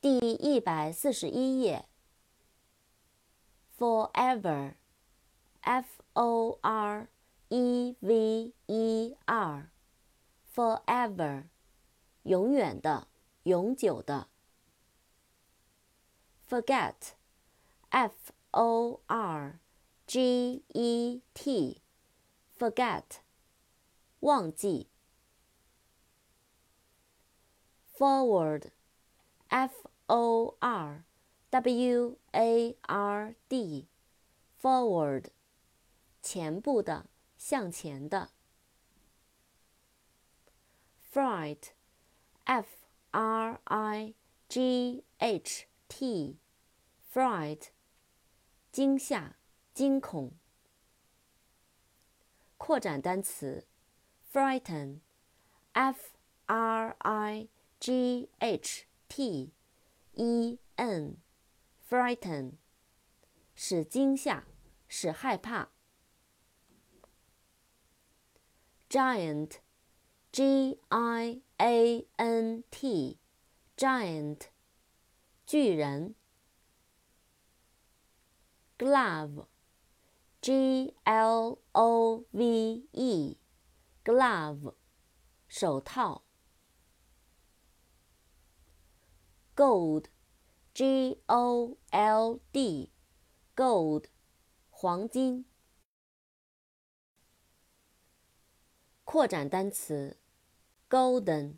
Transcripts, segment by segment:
第141页。Forever, F-O-R-E-V-E-R, forever, 永远的，永久的。Forget, F-O-R-G-E-T, forget, 忘记。Forward, F-O-R-W-A-R-D, forward, 前部的，向前的。Fright, F-R-I-G-H-T, fright, 惊吓，惊恐。扩展单词 frighten, F-R-I-G-H-T-E-N, frighten, 使惊吓，使害怕。Giant, G-I-A-N-T, giant, 巨人。Glove, G-L-O-V-E, glove, 手套。Gold, G-O-L-D, gold, 黄金。扩展单词 golden,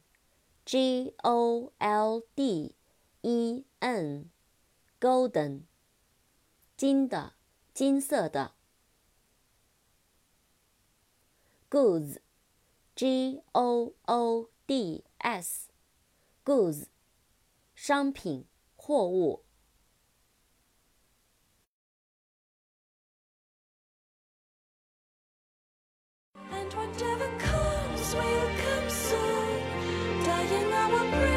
G-O-L-D-E-N, golden, 金的，金色的。Goods, G-O-O-D-S, goods, 商品，货物。 And whatever comes will come soon, dying our breath.